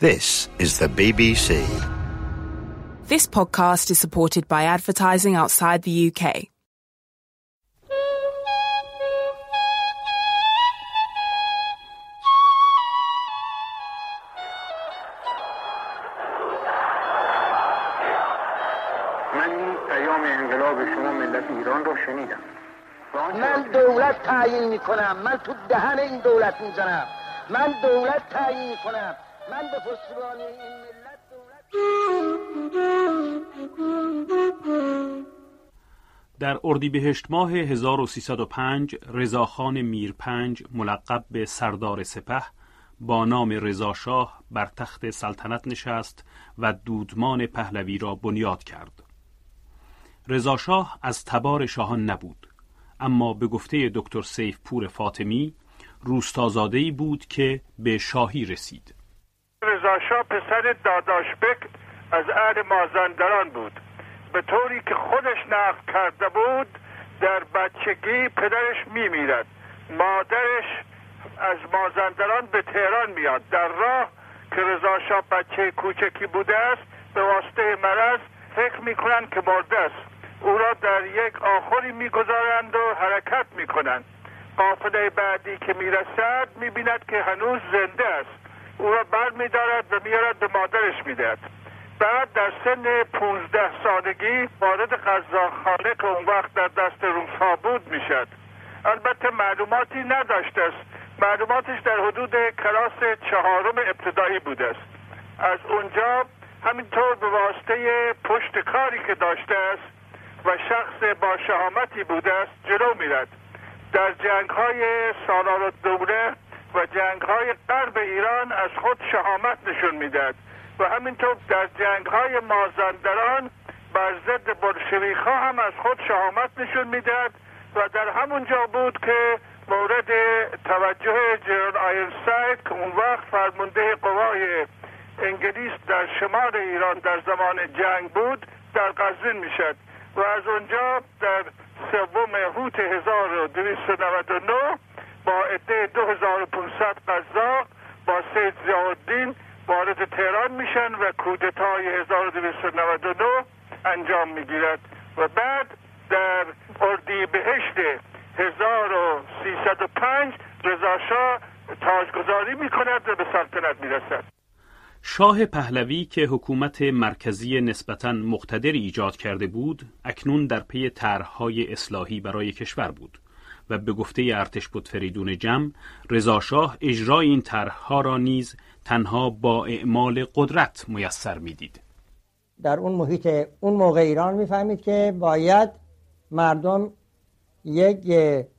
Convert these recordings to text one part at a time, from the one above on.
This is the BBC. This podcast is supported by advertising outside the UK. من پیام انقلاب شما ملت ایران رو شنیدم. من دولت تعیین میکنم، من تو دهن این دولت میزنم، من دولت تعیین میکنم، من به پشتیبانی این ملت دولت. در اردیبهشت ماه 1305 رضاخان میرپنج ملقب به سردار سپه با نام رضاشاه بر تخت سلطنت نشست و دودمان پهلوی را بنیاد کرد. رضاشاه از تبار شاهان نبود، اما به گفته دکتر سیفپور فاطمی روستازاده‌ای بود که به شاهی رسید. رضاشاه پسر داداشبک از اهل مازندران بود. به طوری که خودش نقل کرده بود در بچگی پدرش میمیرد، مادرش از مازندران به تهران میاد. در راه که رضاشاه بچه کوچکی بوده است به واسطه مرض فکر میکنند که مرده است. او را در یک آخری میگذارند و حرکت میکنند. قافله بعدی که میرسد میبیند که هنوز زنده است. او را بر میدارد و میارد به مادرش میدهد. بعد در سن 15 سالگی وارد قزاقخانه که اون وقت در دست روس‌ها بود میشد. البته معلوماتی نداشته است. معلوماتش در حدود کلاس 4 ابتدایی بوده است. از اونجا همینطور به واسطه پشت کاری که داشته است و شخص با شهامتی بوده است جلو میرد. در جنگ‌های سالارالدوله و جنگ‌های غرب ایران از خود شهامت نشون میداد و همینطور در جنگ‌های مازندران بر ضد بلشویک‌ها هم از خود شهامت نشون میداد و در همونجا بود که مورد توجه جنرال آیرنساید که اون وقت فرمانده قوای انگلیس در شمال ایران در زمان جنگ بود در قزوین میشد و از اونجا در 3 هوت 1299 با عده 2500 قزاق با سید ضیاءالدین وارد تهران میشن و کودتای 1299 انجام میگیرد و بعد در اردیبهشت 1305 رضاشاه تاجگذاری میکند و به سلطنت میرسد. شاه پهلوی که حکومت مرکزی نسبتاً مقتدری ایجاد کرده بود، اکنون در پی طرح‌های اصلاحی برای کشور بود و به گفته ارتش فریدون جم، رضاشاه اجرای این طرح‌ها را نیز تنها با اعمال قدرت میسر می‌دید. در اون محیط اون موقع ایران می‌فهمید که باید مردم یک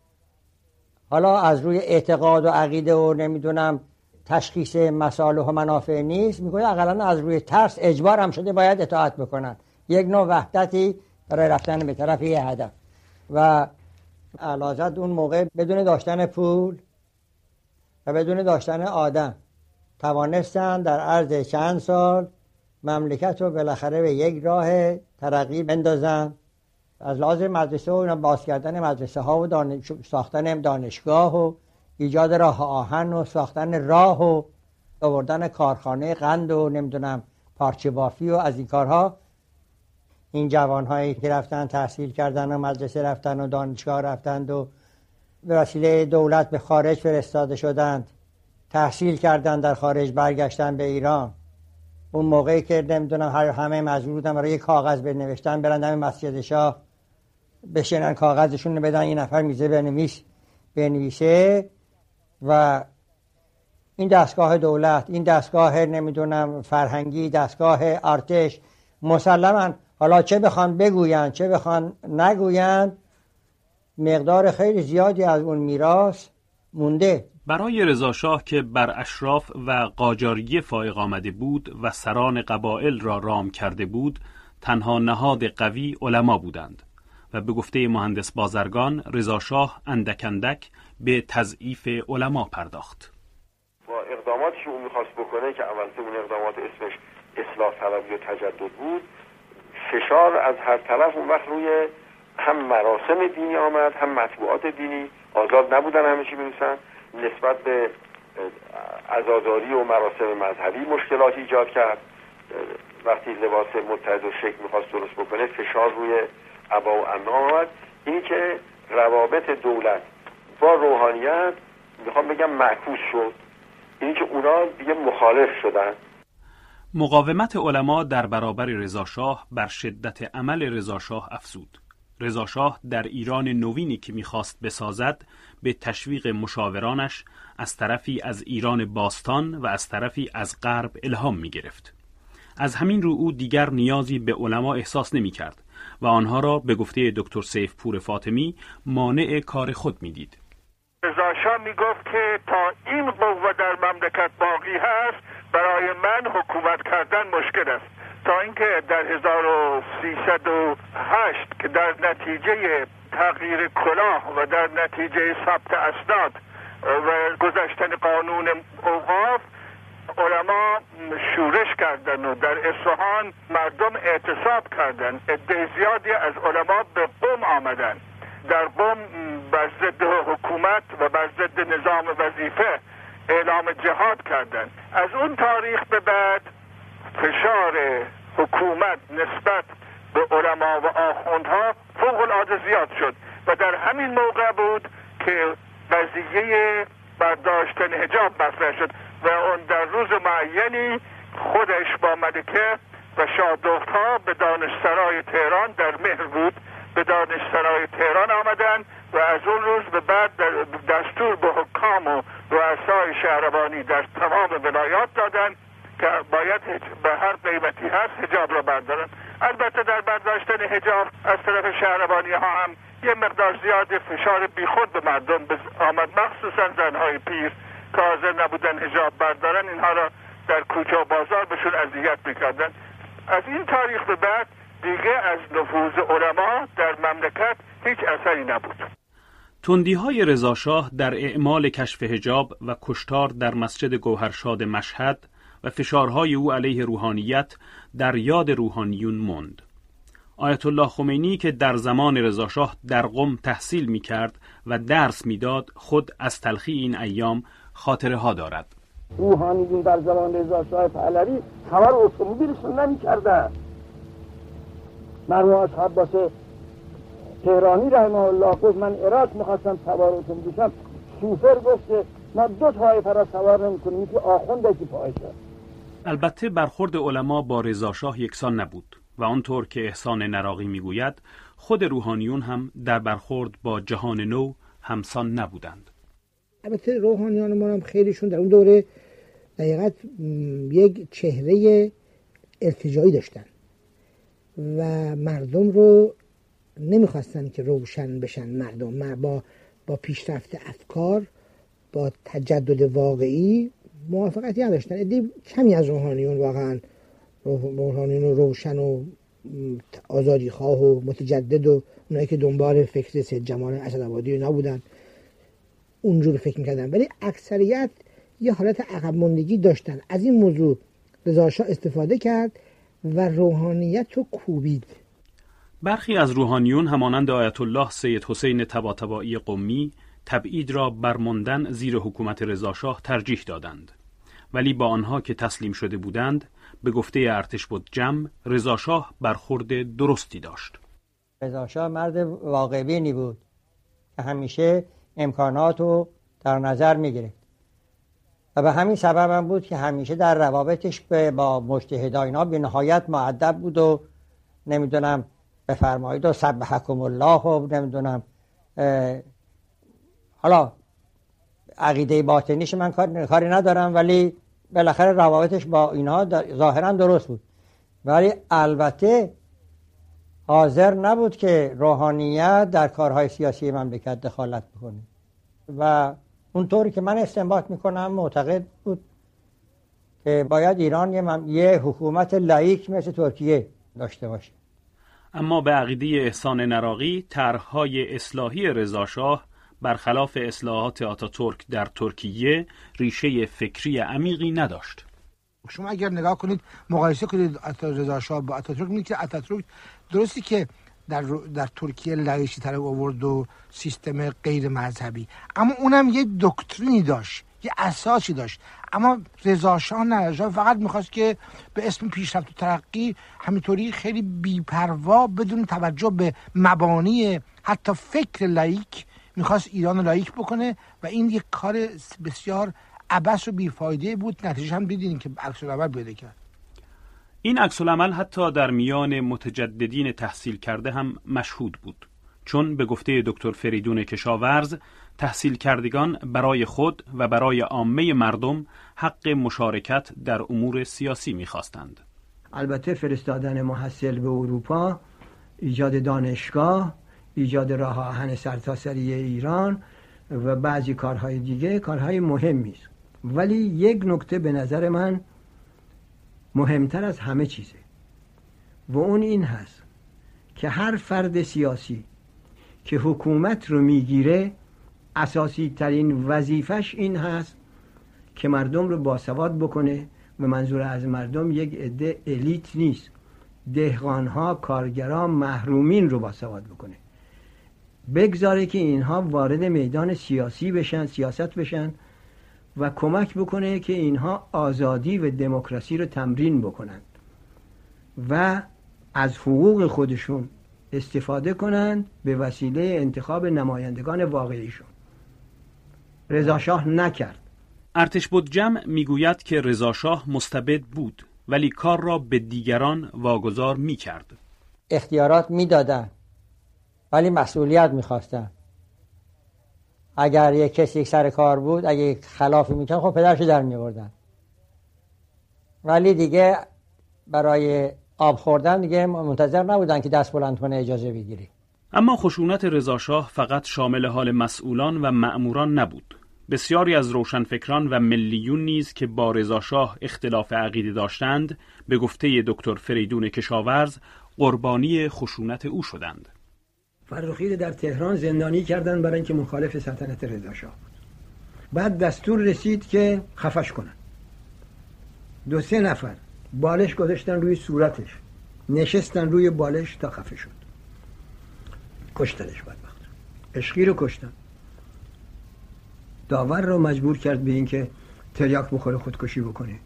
حالا از روی اعتقاد و عقیده و نمیدونم تشخیص مصالح و منافع نیست، میگه اقلا از روی ترس اجبار هم شده باید اطاعت بکنن، یک نوع وحدتی برای رفتن به طرف یه هدف. و اعلیحضرت اون موقع بدون داشتن پول و بدون داشتن آدم توانستن در عرض چند سال مملکت رو بالاخره به یک راه ترقی بندازن. از لحاظ مدرسه و باز کردن مدرسه ها و ساختن دانشگاه و ایجاد راه آهن و ساختن راه و آوردن کارخانه قند و نمیدونم پارچه بافی و از این کارها، این جوانهایی که رفتن تحصیل کردن و مدرسه رفتن و دانشگاه رفتند و به وسیله دولت به خارج فرستاده شدند، تحصیل کردن در خارج، برگشتن به ایران. اون موقعی که نمیدونم همه مجبور بودن برای کاغذ بنوشتن برن دم مسجد شاه بشینن کاغذشون رو بدن، این نفر میزه بنویسه و این دستگاه دولت، این دستگاه نمیدونم فرهنگی، دستگاه ارتش، مسلماً حالا چه بخوان بگوین چه بخوان نگوین مقدار خیلی زیادی از اون میراث مونده. برای رضاشاه که بر اشراف و قاجاری فائق آمده بود و سران قبایل را رام کرده بود، تنها نهاد قوی علما بودند و به گفته مهندس بازرگان رضاشاه اندک اندک به تضعیف علما پرداخت. با اقداماتی که اون میخواست بکنه که اولش اون اقدامات اسمش اصلاح طلبی و تجدد بود، فشار از هر طرف اون وقت روی هم مراسم دینی آمد، هم مطبوعات دینی آزاد نبودن همه چی بنویسن، نسبت به عزاداری و مراسم مذهبی مشکلات ایجاد کرد. وقتی لباس متحد و شکل میخواست درست بکنه فشار روی عبا و عمام آمد. این که روابط دولت با روحانیت میخوام بگم معکوس شد، این که اونا دیگه مخالف شدن. مقاومت علما در برابر رضاشاه بر شدت عمل رضاشاه افزود. رضاشاه در ایران نوینی که میخواست بسازد به تشویق مشاورانش از طرفی از ایران باستان و از طرفی از غرب الهام میگرفت. از همین رو او دیگر نیازی به علما احساس نمی کرد و آنها را به گفته دکتر سیفپور فاطمی مانع کار خود می دید. رضاشاه می گفت که تا این قوه در مملکت باقی هست برای من حکومت کردن مشکل است. تا اینکه در 1308 که در نتیجه تغییر کلاه و در نتیجه ثبت اسناد و گذشتن قانون اوقاف علما شورش کردن و در اصفهان مردم اعتصاب کردن. عده زیادی از علما به قم آمدن. در قم بر ضد حکومت و بر ضد نظام وظیفه اعلام جهاد کردن. از اون تاریخ به بعد فشار حکومت نسبت به علما و آخوندها فوق العاده زیاد شد و در همین موقع بود که قضیه برداشتن حجاب مطرح شد و اون در روز معینی خودش با ملکه و شاهدختها به دانشسرای تهران در مهر بود به دانشسرای تهران آمدن و از اون روز به بعد دستور به حکام و رؤسای شهربانی در تمام ولایات دادن که باید به هر قیمتی هست حجاب را بردارن. البته در برداشتن حجاب از طرف شهربانی ها هم یه مقدار زیاد فشار بیخود به مردم آمد، مخصوصا زنهای پیر که حاضر نبودن حجاب بردارن، اینها را در کوچه و بازار بهشون اذیت میکردن. از این تاریخ به بعد دیگه از نفوذ علما در مملکت هیچ اثری نبود. تندی‌های رضاشاه در اعمال کشف حجاب و کشتار در مسجد گوهرشاد مشهد و فشارهای او علیه روحانیت در یاد روحانیون ماند. آیت الله خمینی که در زمان رضاشاه در قم تحصیل می‌کرد و درس می‌داد خود از تلخی این ایام خاطره ها دارد. روحانیون در زمان رضاشاه پهلوی سوار اتومبیلشون نمی‌کردن. مرحوم عباس تهرانی رحمه الله گفت من عراق می‌خواستم سوار اتومبیل بشم، شوفر گفت که ما دو طایفه را سوار نمی‌کنیم، یکی آخوند یکی پایشه. البته برخورد علما با رضاشاه یکسان نبود و آنطور که احسان نراقی میگوید خود روحانیون هم در برخورد با جهان نو همسان نبودند. البته روحانیان ما هم خیلیشون در اون دوره دقیقاً یک چهره ارتجاعی داشتن و مردم رو نمیخواستن که روشن بشن. مردم با پیشرفت افکار، با تجدد واقعی موافقتی نداشتن. عده کمی از روحانیون واقعا روحانیون روشن و آزادی خواه و متجدد و اونایی که دنبال فکر سید جمال اسدآبادی نبودن اونجور فکر میکردن، ولی اکثریت یه حالت عقب ماندگی داشتن. از این موضوع رضاشاه استفاده کرد و روحانیت رو کوبید. برخی از روحانیون همانند آیت الله سید حسین طباطبایی قمی تبعید را برماندن زیر حکومت رضاشاه ترجیح دادند، ولی با آنها که تسلیم شده بودند به گفته ارتشبدجم رضاشاه برخورد درستی داشت. رضاشاه مرد واقع بینی بود که همیشه امکانات رو در نظر می‌گرفت و به همین سبب هم بود که همیشه در روابطش با مجتهدان اینا به نهایت مؤدب بود و نمیدونم بفرمایید و سبحکم الله و نمیدونم حالا عقیده باطنیش من کاری ندارم، ولی بالاخره روابطش با اینها ظاهرا درست بود، ولی البته حاضر نبود که روحانیت در کارهای سیاسی مملکت دخالت بکنه و اونطوری که من استنباط میکنم معتقد بود که باید ایران یه حکومت لاییک مثل ترکیه داشته باشه. اما به عقیده احسان نراقی طرح‌های اصلاحی رضاشاه برخلاف اصلاحات آتاتورک در ترکیه ریشه فکری عمیقی نداشت. شما اگر نگاه کنید مقایسه کنید رضاشاه با آتاتورک می‌بینید که آتاتورک درستی که در ترکیه لایشی طرح آورد و سیستم غیر مذهبی، اما اونم یه دکترینی داشت، یه اساسی داشت. اما رضا شاه نه، رضا فقط میخواست که به اسم پیشرفت و ترقی همینطوری خیلی بی‌پروا بدون توجه به مبانی حتی فکر لایک میخواست ایران لایک بکنه و این یک کار بسیار عبث و بیفایده بود. نتیجه هم دیدین که عکس العمل پیدا کرد. این عکس العمل حتی در میان متجددین تحصیل کرده هم مشهود بود، چون به گفته دکتر فریدون کشاورز تحصیل کردگان برای خود و برای عامه مردم حق مشارکت در امور سیاسی می‌خواستند. البته فرستادن محصل به اروپا، ایجاد دانشگاه، ایجاد راه آهن سرتاسری ایران و بعضی کارهای دیگه کارهای مهمی است، ولی یک نکته به نظر من مهمتر از همه چیزه و اون این هست که هر فرد سیاسی که حکومت رو میگیره اساسی ترین وظیفش این هست که مردم رو باسواد بکنه و منظور از مردم یک عده الیت نیست، دهقانها، کارگران، محرومین رو باسواد بکنه، بگذاره که اینها وارد میدان سیاسی بشن، سیاست بشن و کمک بکنه که اینها آزادی و دموکراسی رو تمرین بکنند و از حقوق خودشون استفاده کنند به وسیله انتخاب نمایندگان واقعیشون. رضا شاه نکرد. ارتش بودجم میگوید که رضا شاه مستبد بود ولی کار را به دیگران واگذار میکرد. اختیارات میدادن ولی مسئولیت میخواستن. اگر یک کسی سر کار بود، اگه یک خلافی میکرد، خب پدرشو در میوردن، ولی دیگه برای آب خوردن دیگه منتظر نبودن که دست بلند کنه اجازه بگیری. اما خشونت رضا شاه فقط شامل حال مسئولان و مأموران نبود. بسیاری از روشنفکران و ملیون نیز که با رضا شاه اختلاف عقیده داشتند، به گفته دکتر فریدون کشاورز قربانی خشونت او شدند. فرخی رو در تهران زندانی کردن برای اینکه مخالف سلطنت رضا شاه بود. بعد دستور رسید که خفش کنن. 2-3 نفر بالش گذاشتن روی صورتش، نشستن روی بالش تا خفه شد. کشتنش بدبخت. عشقی رو کشتن. داور رو مجبور کرد به این که تریاک بخوره خودکشی بکنه.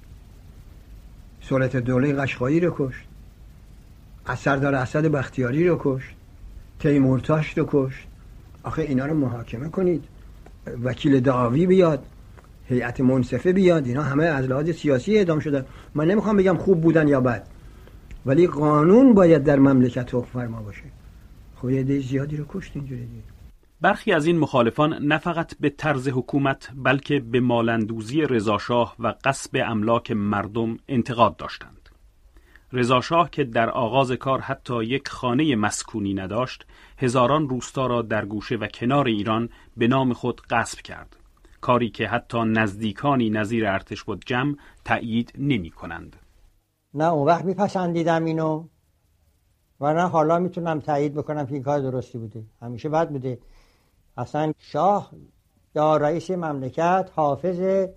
سلطه دوله قشقایی رو کشت. سردار اسد بختیاری رو کشت. تیمورتاش رو کشت. آخه اینا رو محاکمه کنید، وکیل دعاوی بیاد، هیئت منصفه بیاد، اینا همه از لحاظ سیاسی اعدام شدن. من نمیخوام بگم خوب بودن یا بد، ولی قانون باید در مملکت حکم فرما باشه. خب یه عده زیادی رو کشت اینجوری دیگه. برخی از این مخالفان نه فقط به طرز حکومت بلکه به مالندوزی رضا شاه و غصب املاک مردم انتقاد داشتند. رضا شاه که در آغاز کار حتی یک خانه مسکونی نداشت، هزاران روستا را در گوشه و کنار ایران به نام خود غصب کرد، کاری که حتی نزدیکانی نظیر ارتش بودجم تأیید نمی کنند. نه اون وقت میپسندیدم اینو و نه حالا میتونم تأیید بکنم که این کار درستی بوده. همیشه بد بوده. اصلا شاه یا رئیس مملکت حافظ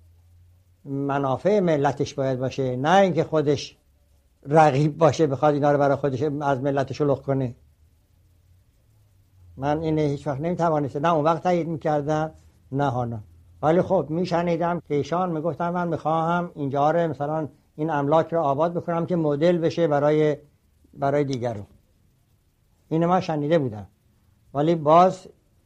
منافع ملتش باید باشه، نه اینکه خودش رقیب باشه بخواد اینا رو برای خودش از ملت شلوغ کنه. من اینه هیچ وقت نمیتوانستم، نه اون وقت تایید میکردم نه حالا. ولی خب میشنیدم که ایشان میگفتن من میخواهم اینجا رو مثلا این املاک رو آباد بکنم که مدل بشه برای دیگرون. اینو من شنیده بودم، ولی باز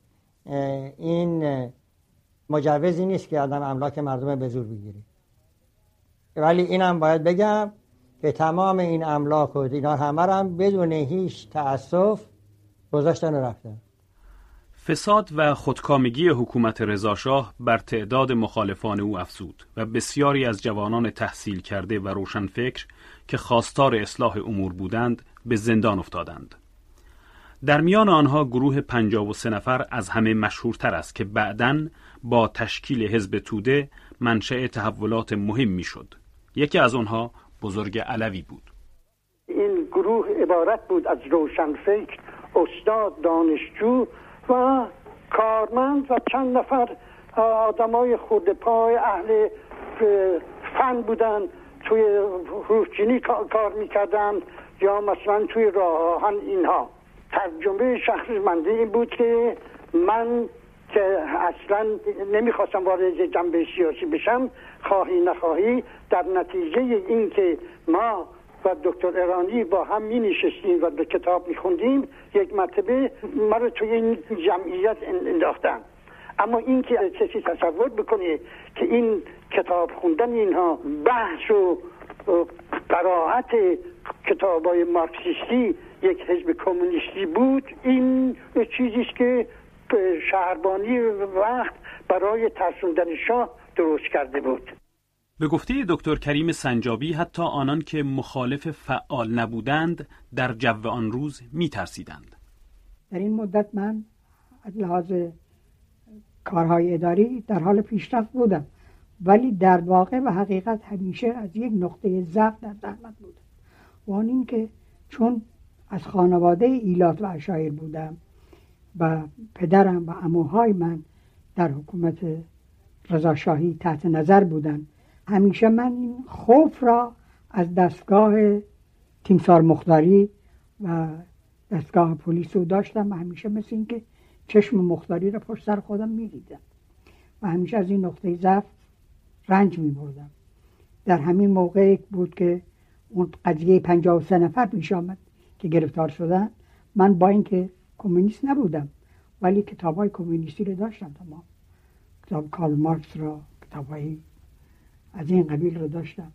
این مجوزی نیست که آدم املاک مردم به زور بگیره. ولی اینم باید بگم که تمام این املاک و اینا همه هم بدون هیچ تأسف گذاشتن و رفتن. فساد و خودکامگی حکومت رضا شاه بر تعداد مخالفان او افزود و بسیاری از جوانان تحصیل کرده و روشنفکر که خواستار اصلاح امور بودند به زندان افتادند. در میان آنها گروه 53 نفر از همه مشهورتر است که بعداً با تشکیل حزب توده منشأ تحولات مهمی شد. یکی از آنها بزرگ علوی بود. این گروه عبارت بود از روشنفکر، استاد، دانشجو و کارمند و چند نفر آدمای خرده پای اهل فن بودن، توی روزچینی کار میکردن یا مثلا توی راه آهن. اینها ترجمه شخصمنده این بود که من که اصلا نمیخواستم وارد جنبه سیاسی بشم، خواهی نخواهی در نتیجه این که ما و دکتر ایرانی با هم می نشستیم و به کتاب می خوندیم، یک مرتبه ما رو توی این جمعیت انداختن. اما این که کسی تصور بکنه که این کتاب خوندن اینها بحث و قرائت کتابای مارکسیستی یک حزب کمونیستی بود، این چیزیست که شهربانی وقت برای ترسوندن شاه درست کرده بود. به گفته دکتر کریم سنجابی حتی آنان که مخالف فعال نبودند در جو آن روز می‌ترسیدند. در این مدت من از لحاظ کارهای اداری در حال پیشرفت بودم، ولی در واقع و حقیقت همیشه از یک نقطه ضعف در زحمت بودم و آن این که چون از خانواده ایلات و عشایر بودم و پدرم و عموهای من در حکومت رضاشاهی تحت نظر بودن، همیشه من این خوف را از دستگاه تیمسار مختاری و دستگاه پلیس رو داشتم و همیشه مثل این که چشم مختاری را پشت سر خودم می‌دیدم و همیشه از این نقطه ضعف رنج می‌بردم. در همین موقع بود که اون قضیه 53 نفر پیش آمد که گرفتار شدن. من با اینکه کمونیست نبودم ولی کتاب‌های کمونیستی رو داشتم، تمام کتاب کارل مارکس را، کتاب‌های از این قبیل رو داشتم.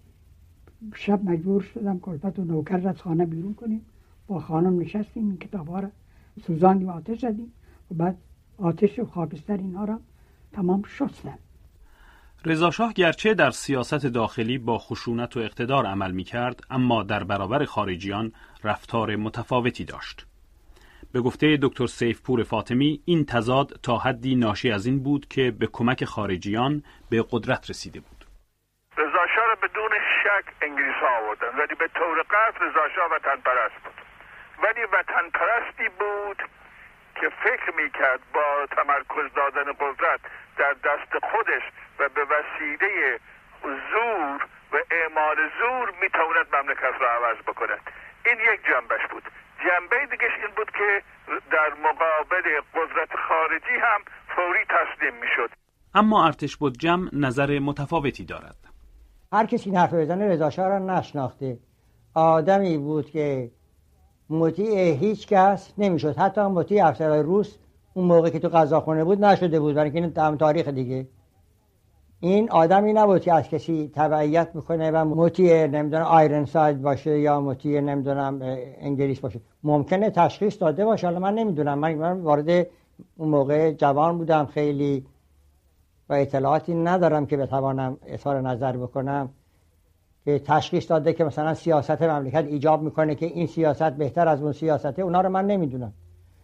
شب مجبور شدم کلفت و نوکر را از خانه بیرون کنیم، با خانم نشستیم این کتاب‌ها را سوزاندیم، آتش زدیم و بعد آتش و خاکستر اینها را تمام شستم. رضاشاه گرچه در سیاست داخلی با خشونت و اقتدار عمل می‌کرد، اما در برابر خارجیان رفتار متفاوتی داشت. به گفته دکتر سیفپور فاطمی این تضاد تا حدی ناشی از این بود که به کمک خارجیان به قدرت رسیده بود. رضاشاه را بدون شک انگلیس‌ها آوردن، ولی به طور قطع رضاشاه وطن پرست بود، ولی وطن پرستی بود که فکر میکرد با تمرکز دادن قدرت در دست خودش و به وسیله زور و اعمال زور میتواند مملکت را عوض بکند. این یک جنبش بود. جنبه دیگهش این بود که در مقابل قدرت خارجی هم فوری تسلیم میشد. اما ارتشبدجم نظر متفاوتی دارد. هر کسی این حرف بزنه رضاشاه را نشناخته. آدمی بود که مطیع هیچ کس نمیشد، حتی مطیع افسرهای روس اون موقع که تو قزاقخونه بود نشده بود، برای اینکه این تاریخ دیگه. این آدمی نبود که از کسی تبعیت میکنه و مطیع نمیدونم آیرن ساید باشه یا مطیع نمیدونم انگلیس باشه. ممکنه تشخیص داده باشه، حالا من نمیدونم، من وارد اون موقع جوان بودم خیلی و اطلاعاتی ندارم که بتوانم اظهار نظر بکنم که تشخیص داده که مثلا سیاست مملکت ایجاب میکنه که این سیاست بهتر از اون سیاسته. اونا رو من نمیدونم،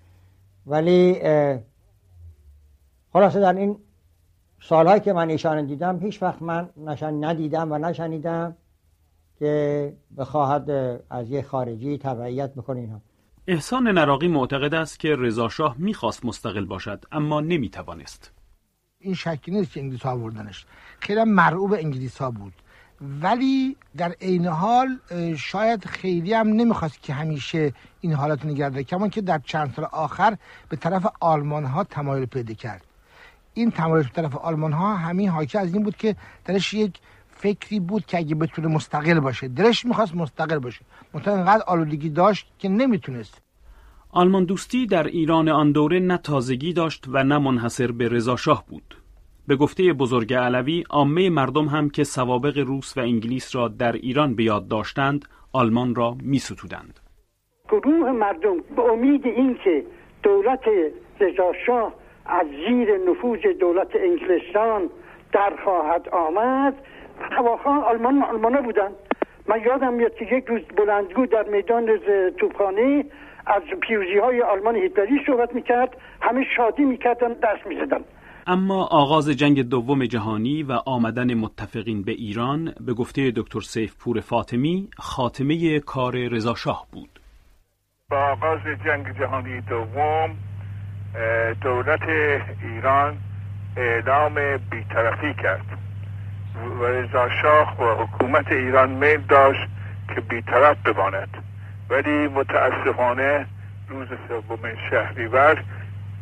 ولی خلاصه در این سالهایی که من ایشان دیدم هیچ وقت من ندیدم و نشنیدم که بخواهد از یک خارجی تبعیت بکنه اینها. احسان نراقی معتقد است که رضاشاه میخواست مستقل باشد اما نمیتوانست. این شکی نیست که انگلیس ها آوردنش، خیلی مرعوب انگلیس ها بود، ولی در عین حال شاید خیلی هم نمیخواست که همیشه این حالت نگرده، کمان که در چند سال آخر به طرف آلمان ها تمایل پیدا کرد. این تمایل به طرف آلمان ها همین حاکی از این بود که درش یک فکری بود که اگه بتونه مستقل باشه، درش میخواست مستقل باشه، منتها اینقدر آلودگی داشت که نمیتونست. آلمان دوستی در ایران آن دوره نه تازگی داشت و نه منحصر به رضاشاه بود. به گفته بزرگ علوی، عامه مردم هم که سوابق روس و انگلیس را در ایران به یاد داشتند، آلمان را می‌ستودند. گروه مردم به امید اینکه دولت رضاشاه از زیر نفوذ دولت انگلستان در خواهد آمد، هواخواه آلمانا بودن. من یادم میاد که یک روز بلندگو در میدان توپخانه از پیروزی‌های آلمان هیتلری صحبت میکرد، همه شادی میکردن، دست میزدن. اما آغاز جنگ دوم جهانی و آمدن متفقین به ایران به گفته دکتر سیفپور فاطمی خاتمه کار رضاشاه بود. با آغاز جنگ جهانی دوم دولت ایران اعلام بی‌طرفی کرد و رضاشاه و حکومت ایران میل داشت که بی‌طرف بماند، ولی متاسفانه روز 3 شهریور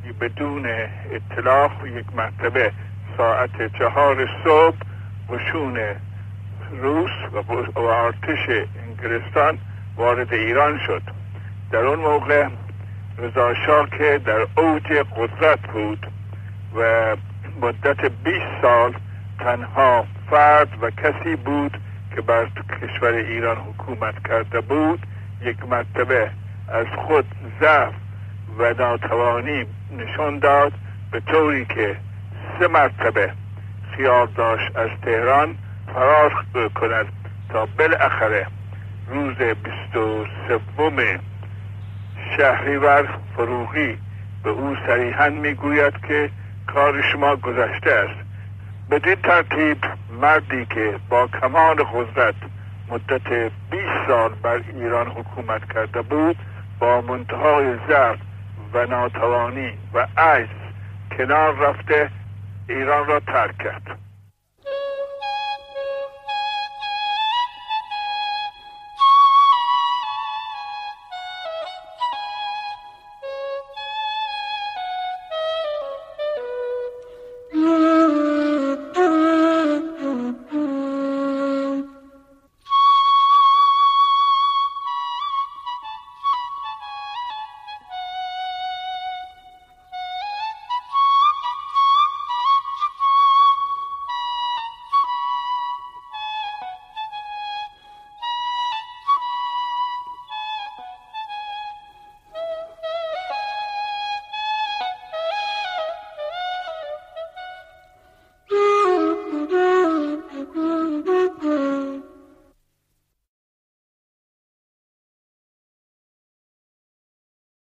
بدون اطلاع یک مرتبه ساعت 4 صبح قشون روس و ارتش انگلستان وارد ایران شد. در اون موقع رضا شاه که در اوج قدرت بود و مدت 20 سال تنها فرد و کسی بود که بر کشور ایران حکومت کرده بود، یک مرتبه از خود ضعف و ناتوانی نشان داد، به طوری که 3 مرتبه خیال داشت از تهران فرار کند تا بالاخره روز 23 شهریور فروغی به او صریحاً میگوید که کار شما گذشته است. بدین ترتیب مردی که با کمال قدرت مدت 20 سال بر ایران حکومت کرده بود، با منتهای ضعف و ناتوانی و عجز کنار رفته ایران را ترک کرد.